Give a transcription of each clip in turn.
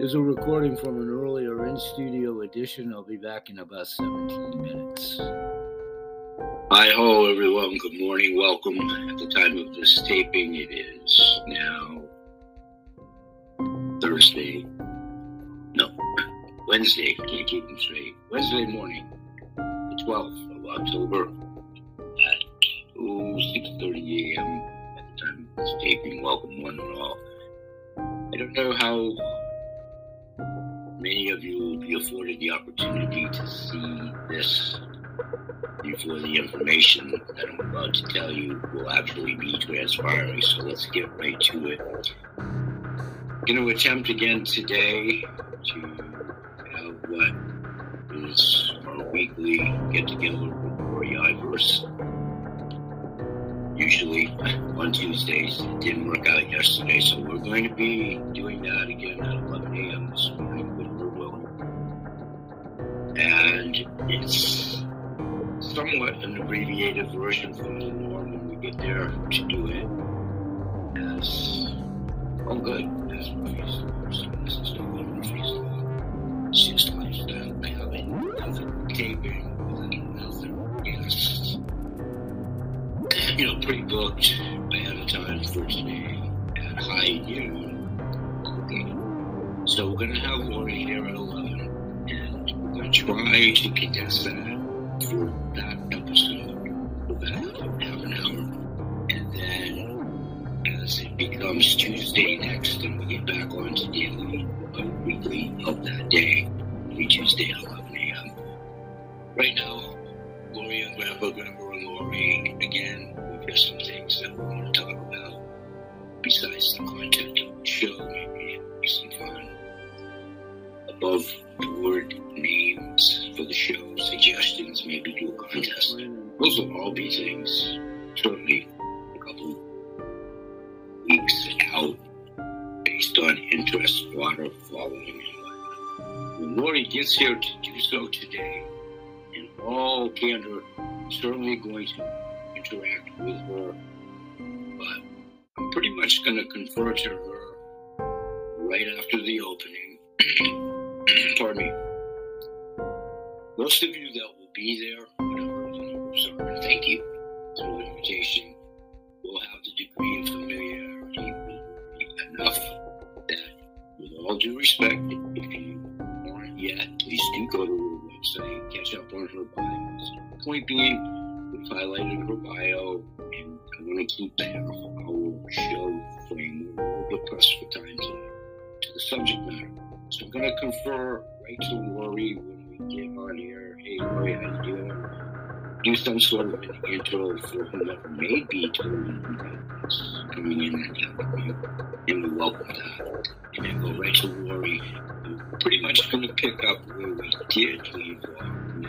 This is a recording from an earlier in-studio edition. I'll be back in about 17 minutes. Hi ho, everyone. Good morning. Welcome. At the time of this taping, it is now Wednesday. Can't keep them straight. Wednesday morning, the 12th of October at 6:30 a.m. at the time of this taping. Welcome, one and all. I don't know how many of you will be afforded the opportunity to see this before the information that I'm about to tell you will actually be transpiring. So let's get right to it. I'm going to attempt again today to have what is our weekly get-together with Rory Ivers. Usually on Tuesdays. It didn't work out yesterday, so we're going to be doing that again at 11 a.m. this morning with We're Willing. And it's somewhat an abbreviated version from the norm when we get there to do it as Murphy's Law. So this is not Murphy's Law. It's just lifestyle. I have another taping with another guest. Pre-booked ahead of time for today at high noon. Okay. So we're going to have Lori here at 11, and we're going to try to condense that for that episode for about half an hour. And then as it becomes Tuesday next, and we get back on to daily weekly of that day, every Tuesday at 11 a.m. Right now, Lori and Grandpa and Lori, again, we've got some things that we want to talk about besides the content of the show. Maybe some fun above board names for the show, suggestions, maybe do a contest. Those will all be things certainly a couple weeks out based on interest, water, following, and whatnot. When Lori gets here to do so today, in all candor, I'm certainly going to interact with her, but I'm pretty much going to confer to her right after the opening. Pardon me. Most of you that will be there, whatever the numbers are, thank you through invitation, will have the degree of familiarity with enough that, with all due respect, if you aren't yet, please do go to her website, catch up on her bios. Point being, we've highlighted her bio, and I want to keep that our show frame. We're a little bit pressed for time to the subject matter. So I'm going to confer right to Lori when we get on here. Hey, Lori, how you doing? Do some sort of an intro for whomever may be that's coming in and helping you, and we welcome that. And then go right to Lori. I'm pretty much going to pick up where we did leave off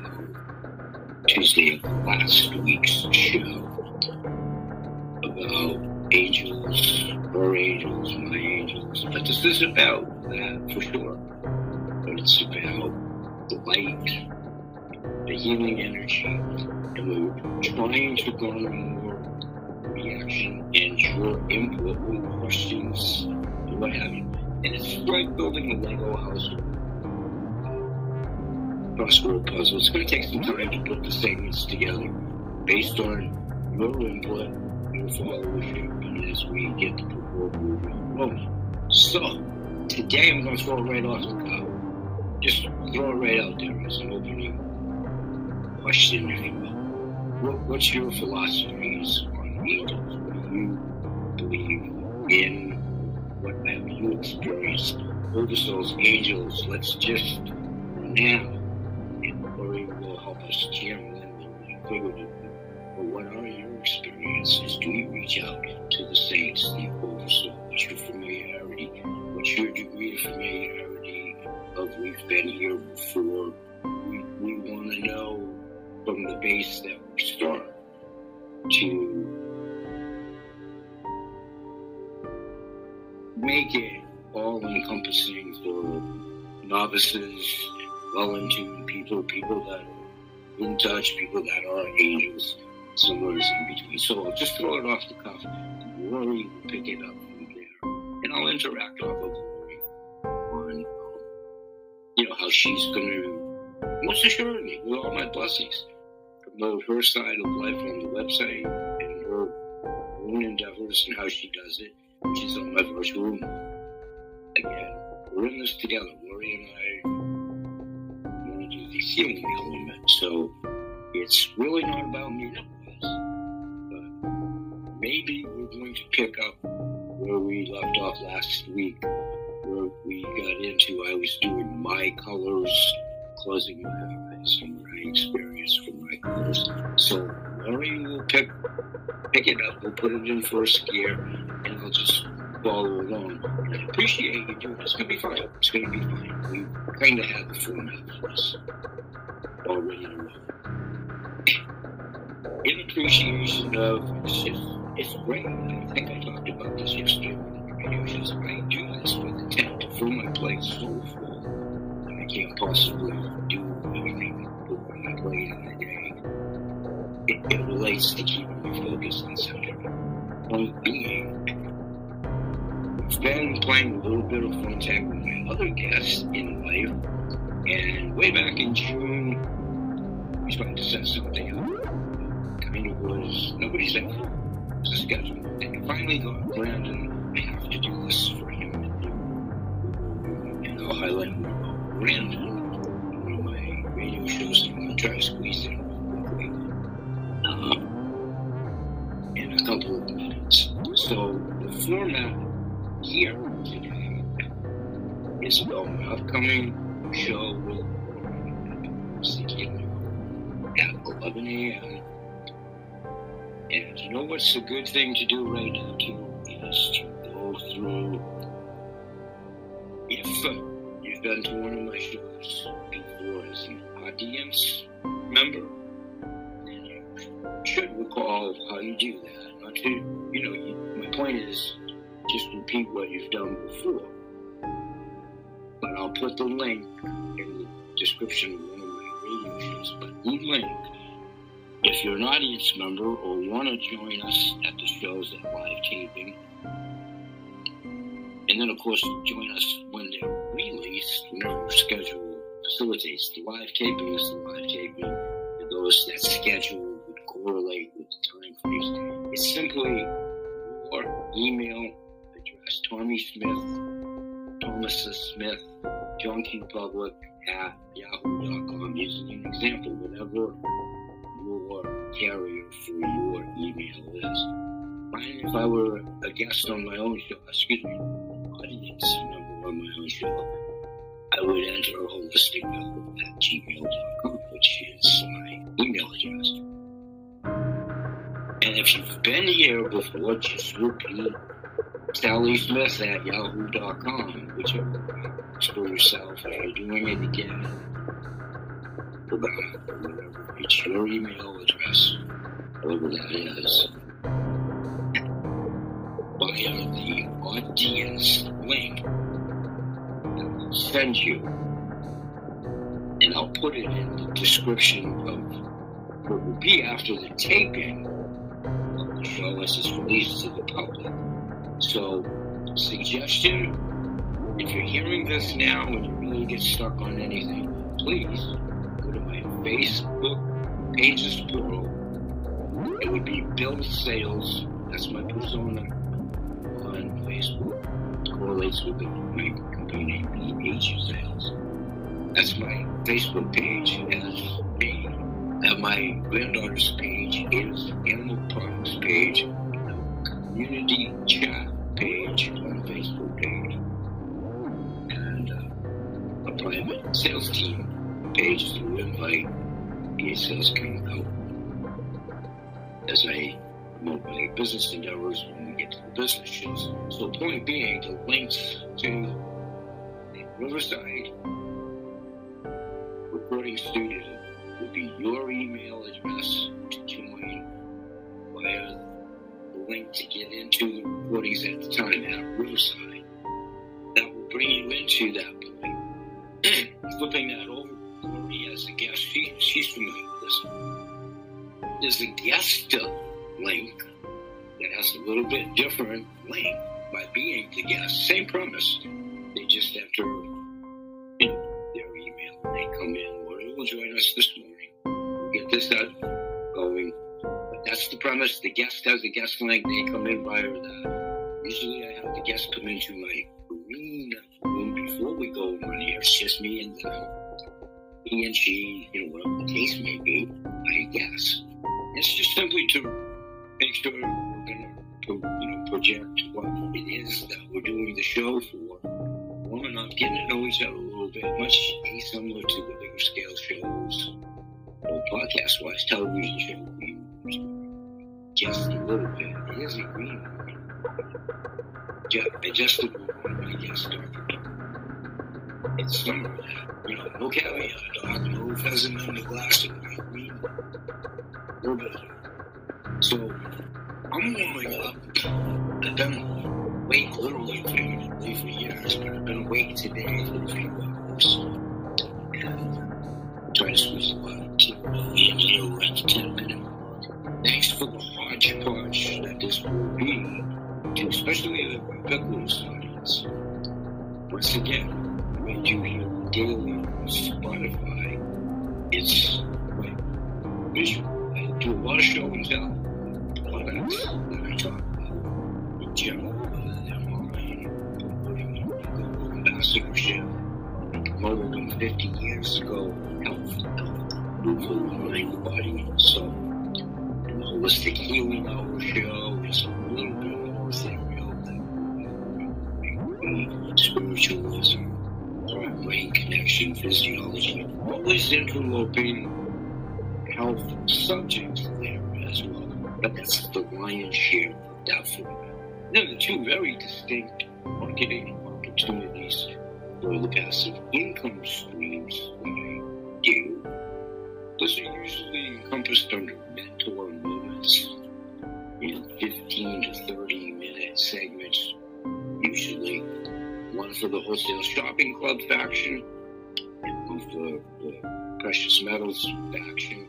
Tuesday of last week's show about angels, her angels, my angels. But this is about that for sure. But it's about the light, the healing energy, and we're trying to garner more reaction and your input with questions and what have you. And it's like building a Lego house crossword puzzle. It's going to take some time to put the segments together based on your input, your followership, and as we get the proverbial rolling. So, today I'm going to throw it right off the cuff. Just throw it right out there as an opening question, if you will. What's your philosophies on angels? What do you believe in? What have you experienced? Oversouls, angels, let's just now. Lori will help us channel in the figurative. But what are your experiences? Do you reach out to the saints, the oversoul? What's your familiarity? What's your degree of familiarity of we've been here before? We want to know from the base that we start to make it all-encompassing for novices, well-in-tune people that are in touch, people that are angels, somewhere in between. So I'll just throw it off the cuff. Lori will pick it up from there. And I'll interact off of Lori on how she's going to, most assuredly, with all my blessings, promote her side of life on the website and her own endeavors and how she does it, which is on my virtual room. Again, we're in this together. Lori and I want to do the healing element, so it's really not about me. No, but maybe we're going to pick up where we left off last week, where we got into, I was doing my colors, closing my eyes, and what I experienced from my colors. So Lori will pick it up, we'll put it in first gear, and I'll just follow along. And I appreciate you doing it. It's going to be fine. It's going to be fine. We kind of had the format for this already in a row. In appreciation of, it's great. I think I talked about this yesterday on the radio shows. I do this with intent to fill my plate so full that I can't possibly do anything on my plate in a day. It relates to keeping me focused on something. Point being, I've been playing a little bit of phone tag with my other guests in life, and way back in June, we tried to set something up. Kind of was, nobody said, it was a schedule. And I finally got Brandon, I have to do this for him. And I'll highlight more about Brandon in one of my radio shows that I'm going to try to squeeze in quickly in a couple of minutes. So the format here today is about my upcoming show with at 11 a.m. And you know what's a good thing to do right now, too, is to go through, if you've been to one of my shows before as an audience member, then you should recall how you do that. Not to, my point is, just repeat what you've done before. But I'll put the link in the description of one of my radio shows, but the link, if you're an audience member or want to join us at the shows at live taping, and then of course join us when they're released, whenever the schedule facilitates the live tapings, and those that schedule would correlate with the time frames. It's simply your email address, Tommy Smith, Thomas Smith, John Q. Public at yahoo.com. Using an example, whatever your carrier for your email is. Fine, if I were a guest on my own show, audience member on my own show, I would enter holistic at gmail.com, which is my email address. And if you've been here before, just repeat Sally Smith at yahoo.com, whichever works for yourself. If you're doing it again, whatever, it's your email address, whatever that is, via the audience link that I'll send you, and I'll put it in the description of what will be after the taping of the show as it's released to the public. So, suggestion, if you're hearing this now and you really get stuck on anything, please go to my Facebook pages plural. It would be Bill Sales. That's my persona on Facebook. It correlates with my company name, BH Sales. That's my Facebook page as me. And my granddaughter's page is Animal Products page, community chat page on Facebook page, and a private sales team page to invite BH Sales can out as I promote my business endeavors when we get to the business shows. So point being, the links to the Riverside recording studio will be your email address to join via the link to get into the recordings at the time at Riverside. That will bring you into that point. Flipping that over, Lori as a guest, she's familiar with this. There's a guest link that has a little bit different link by being the guest. Same premise. They just enter their may come in. Warrior will join us this morning. We'll get this out going. But that's the premise. The guest has a guest link. They come in via that. Usually I have the guest come into my green room before we go on here. It's just me and he and she, whatever the case may be, I guess. It's just simply to make sure we're going to project what it is that we're doing the show for. Warming up, getting to know each other a little bit, much similar to the bigger scale shows, or podcast-wise, television shows, just a little bit. It is a green room. Adjusted one of my guests, it's summer. No caveat, dog, no pheasant in the glass of green. So, I'm warming up. I've been awake literally figuratively for years, but I've been awake today for a few hours. And trying to squeeze a lot of sleep in here. We're at the 10-minute mark. Thanks for the hodgepodge that this will be, to especially the ubiquitous audience. Once again, when you hear daily on Spotify, it's like visual. I do a lot of show and tell, products that I talk about in general, whether they're mine, promoting Google ambassadorship, promoted them 50 years ago, health, for the mind, body, and soul. And the Holistic Healing Hour show is a little bit more ethereal than spiritualism, brain connection, physiology, always interloping health subjects there as well. But that's the lion's share of that format. Then the two very distinct marketing opportunities for the passive income streams that I do. Those are usually encompassed under mentor moments in 15 to 30 minute segments, usually one for the Wholesale Shopping Club faction and one for the Precious Metals faction.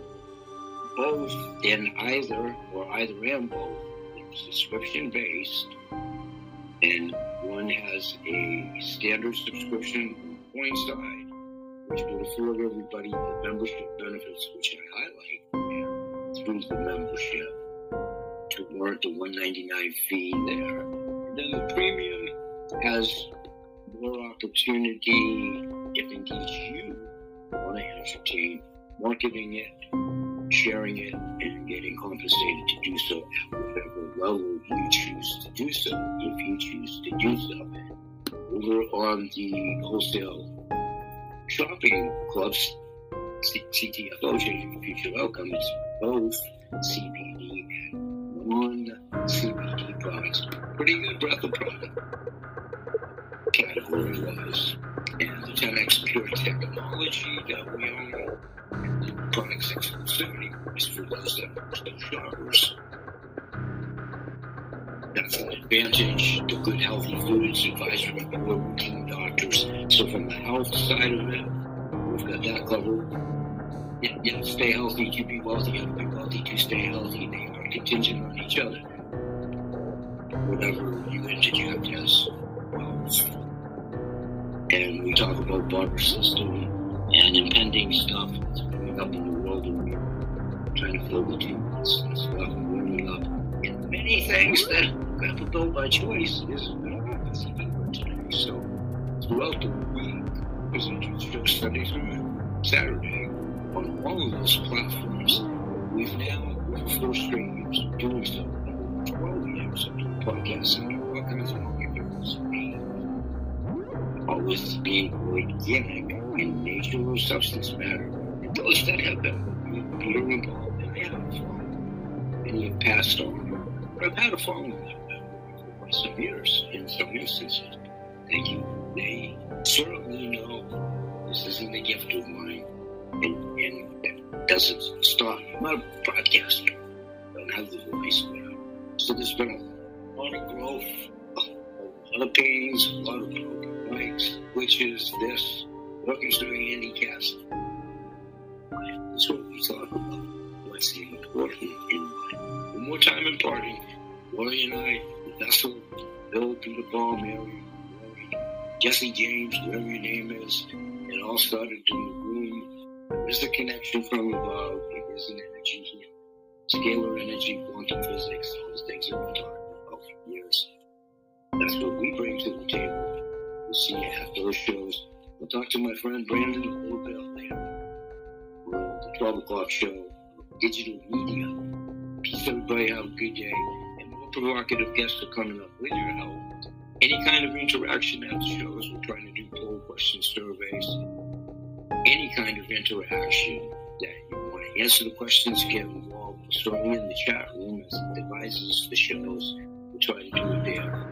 Both in either and both. It's subscription based, and one has a standard subscription on Coinside, which will afford everybody the membership benefits, which I highlight through the membership to warrant the $1.99 fee there. And then the premium has more opportunity if indeed you want to entertain marketing it, sharing it, and getting compensated to do so at whatever level you choose to do so, if you choose to do so. Over on the Wholesale Shopping Clubs, CTFO, Changing Future Outcome, it's both CBD and non-CBD products. Pretty good breadth of product, category-wise. And the 10X Pure Technology that we own, the product's exclusivity is for those that are still shoppers. That's an advantage. The Good Healthy Foods Advisory Board, routine doctors. So from the health side of it, we've got that covered. Yeah, stay healthy to be wealthy, and be wealthy to stay healthy. They are contingent on each other. Whatever you interject as wealth. And we talk about barter system and impending stuff that's coming up in the world, and we're trying to fill the tubes and stuff, warming up. And many things that got fulfilled by choice is going to be a busy keyword today. So throughout the week, present show Sunday through Saturday on all of those platforms. We've now, with 4 straight years of doing so, 12 years of podcasting, all kinds of marketers, always being organic in nature or substance matter. And those that have been Peter involved, and they have many have passed on, but I've had a following them for some years in some instances. Thank you. They certainly know this isn't a gift of mine, and it doesn't stop. I'm not a broadcaster. I don't have the voice now. So there's been a lot of growth, a lot of pains, a lot of broken mics, which is this, workers doing handicaps. That's what we talk about. What's important in life. One more time imparting, Lori and I, the vessel, Bill, Peter, Paul, Mary, Jesse James, whatever your name is, It all started in the room. There's a connection from above. There's an energy here. Scalar energy, quantum physics, all the things that we've been talking about for years. That's what we bring to the table. We'll see you after the shows. I'll talk to my friend Brandon a little bit later. We're on the 12 o'clock show, digital media. Peace, everybody. Have a good day. And more provocative guests are coming up with your help. Any kind of interaction at the shows. We're trying to do poll questions, surveys. Any kind of interaction that you want to answer the questions, get involved. We're starting in the chat room as it advises the shows. We'll try to do it there.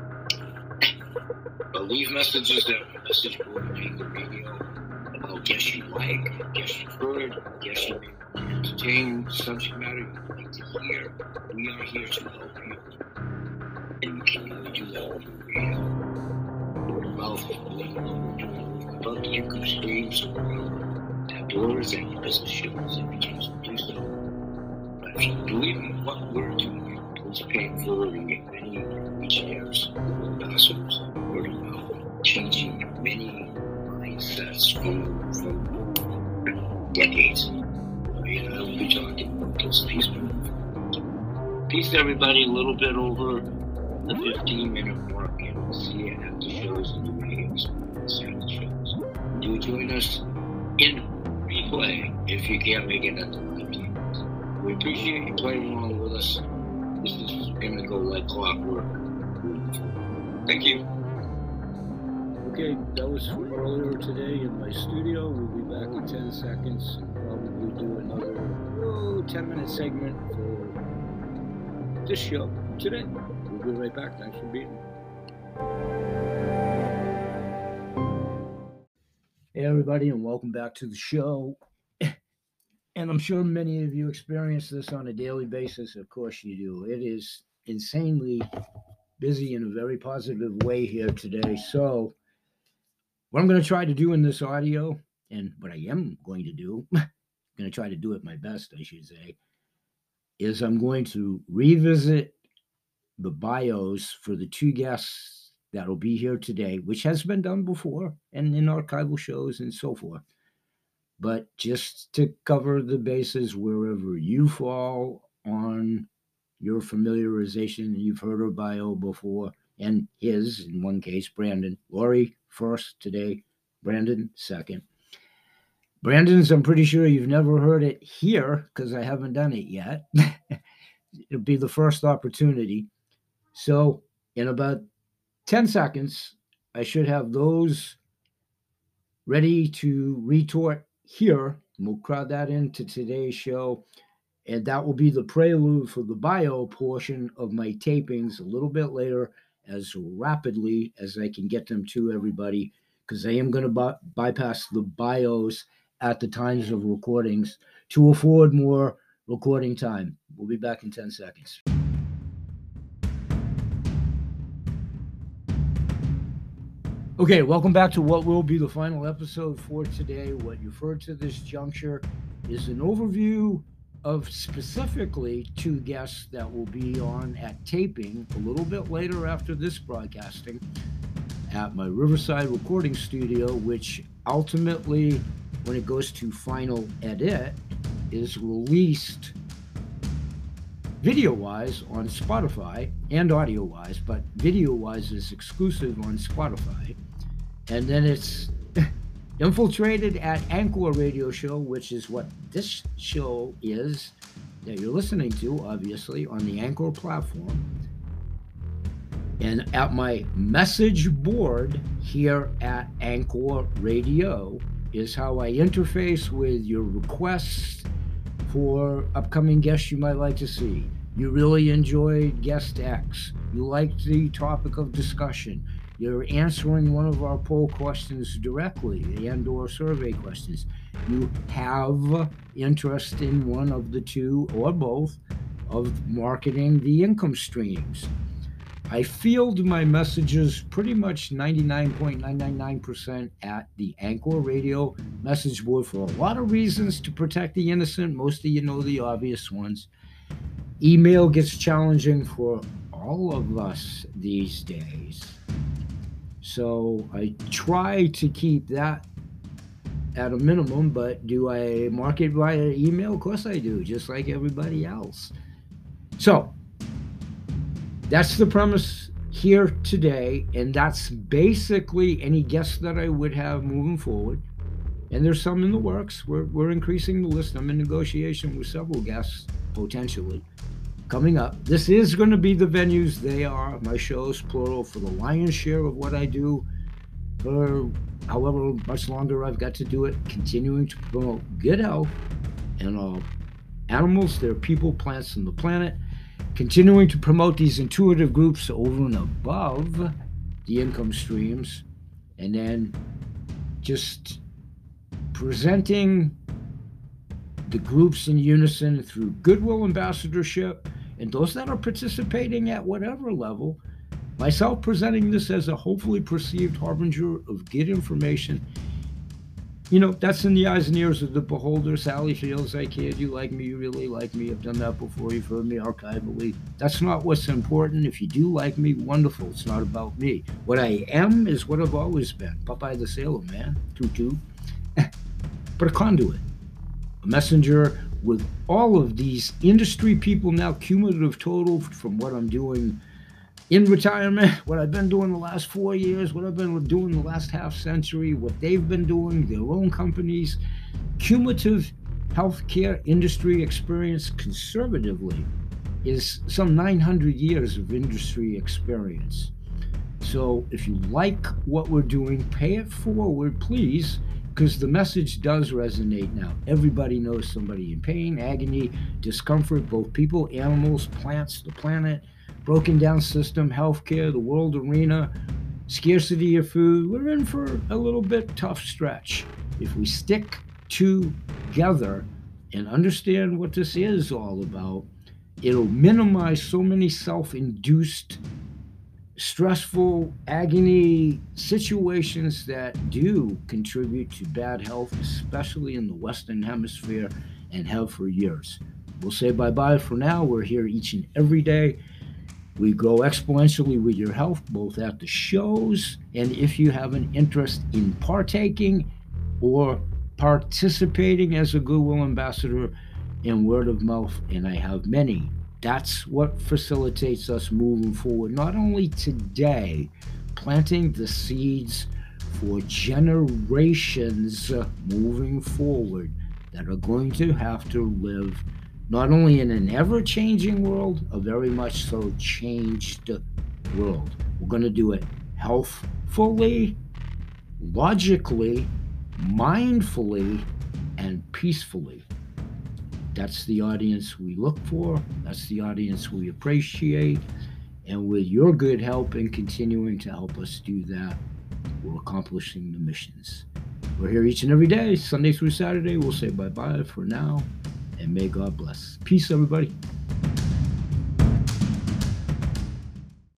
But leave messages at my message board on Anchor Radio about guests you like, guests you've heard, guests you may entertain, subject matter you'd like to hear. We are here to help you. And you can only do that on the radio. Word of mouth, letting know we're doing about the income streams or whatever. That doors and your business shows if you choose to do so. But if you believe in what we're doing, please pay it forward and get many legionnaires, ambassadors, word of mouth, changing many mindsets from decades. And I will be talking about those people. Peace, everybody. A little bit over the 15-minute mark, and we'll see you at the shows and the radios and the shows. Do join us in replay if you can't make it at the live tables. We appreciate you playing along with us. This is going to go like clockwork. Thank you. Okay, that was from earlier today in my studio. We'll be back in 10 seconds and probably do another 10-minute segment for this show today. We'll be right back. Thanks for being here. Hey, everybody, and welcome back to the show. And I'm sure many of you experience this on a daily basis. Of course you do. It is insanely busy in a very positive way here today. So what I'm going to try to do in this audio, and what I am going to do, I'm going to try to do it my best, I should say, is I'm going to revisit the bios for the two guests that will be here today, which has been done before and in archival shows and so forth. But just to cover the bases wherever you fall on your familiarization, you've heard her bio before, and his, in one case, Brandon. Lori first today, Brandon second. Brandon's, I'm pretty sure you've never heard it here because I haven't done it yet. It'll be the first opportunity. So in about 10 seconds, I should have those ready to retort here. We'll crowd that into today's show. And that will be the prelude for the bio portion of my tapings a little bit later, as rapidly as I can get them to everybody, because I am going to bypass the bios at the times of recordings to afford more recording time. We'll be back in 10 seconds. Okay, welcome back to what will be the final episode for today. What you've heard to this juncture is an overview of specifically two guests that will be on at taping a little bit later after this broadcasting at my Riverside recording studio, which ultimately, when it goes to final edit, is released video-wise on Spotify and audio-wise, but video-wise is exclusive on Spotify. And then it's infiltrated at Anchor Radio Show, which is what this show is that you're listening to, obviously, on the Anchor platform. And at my message board here at Anchor Radio is how I interface with your requests for upcoming guests you might like to see. You really enjoyed guest X. You liked the topic of discussion. You're answering one of our poll questions directly and/or survey questions. You have interest in one of the two or both of marketing the income streams. I field my messages pretty much 99.999% at the Anchor Radio message board for a lot of reasons to protect the innocent. Most of you know the obvious ones. Email gets challenging for all of us these days. So I try to keep that at a minimum, but do I market via email? Of course I do, just like everybody else. So that's the premise here today, and that's basically any guests that I would have moving forward. And there's some in the works. We're increasing the list. I'm in negotiation with several guests potentially coming up. This is going to be the venues. They are my shows, plural, for the lion's share of what I do for however much longer I've got to do it, continuing to promote good health and all animals, their people, plants, and the planet, continuing to promote these intuitive groups over and above the income streams, and then just presenting the groups in unison through goodwill ambassadorship and those that are participating at whatever level. Myself presenting this as a hopefully perceived harbinger of good information. You know, that's in the eyes and ears of the beholder. Sally feels I kid. You like me, you really like me. I've done that before. You've heard me archivally. That's not what's important. If you do like me, wonderful. It's not about me. What I am is what I've always been. Popeye the Sailor Man. Toot toot. But a conduit. A messenger with all of these industry people now, cumulative total from what I'm doing in retirement, what I've been doing the last 4 years, what I've been doing the last half century, what they've been doing, their own companies, cumulative healthcare industry experience conservatively is some 900 years of industry experience. So if you like what we're doing, pay it forward, please, because the message does resonate now. Everybody knows somebody in pain, agony, discomfort, both people, animals, plants, the planet, broken down system, healthcare, the world arena, scarcity of food. We're in for a little bit tough stretch. If we stick together and understand what this is all about, it'll minimize so many self-induced, stressful, agony situations that do contribute to bad health, especially in the Western Hemisphere, and have for years. We'll say bye-bye for now. We're here each and every day. We grow exponentially with your health, both at the shows and if you have an interest in partaking or participating as a Goodwill ambassador in word of mouth, and I have many. That's what facilitates us moving forward, not only today, planting the seeds for generations moving forward that are going to have to live not only in an ever-changing world, a very much so changed world. We're going to do it healthfully, logically, mindfully, and peacefully. That's the audience we look for. That's the audience we appreciate. And with your good help in continuing to help us do that, we're accomplishing the missions. We're here each and every day, Sunday through Saturday. We'll say bye-bye for now. And may God bless. Peace, everybody.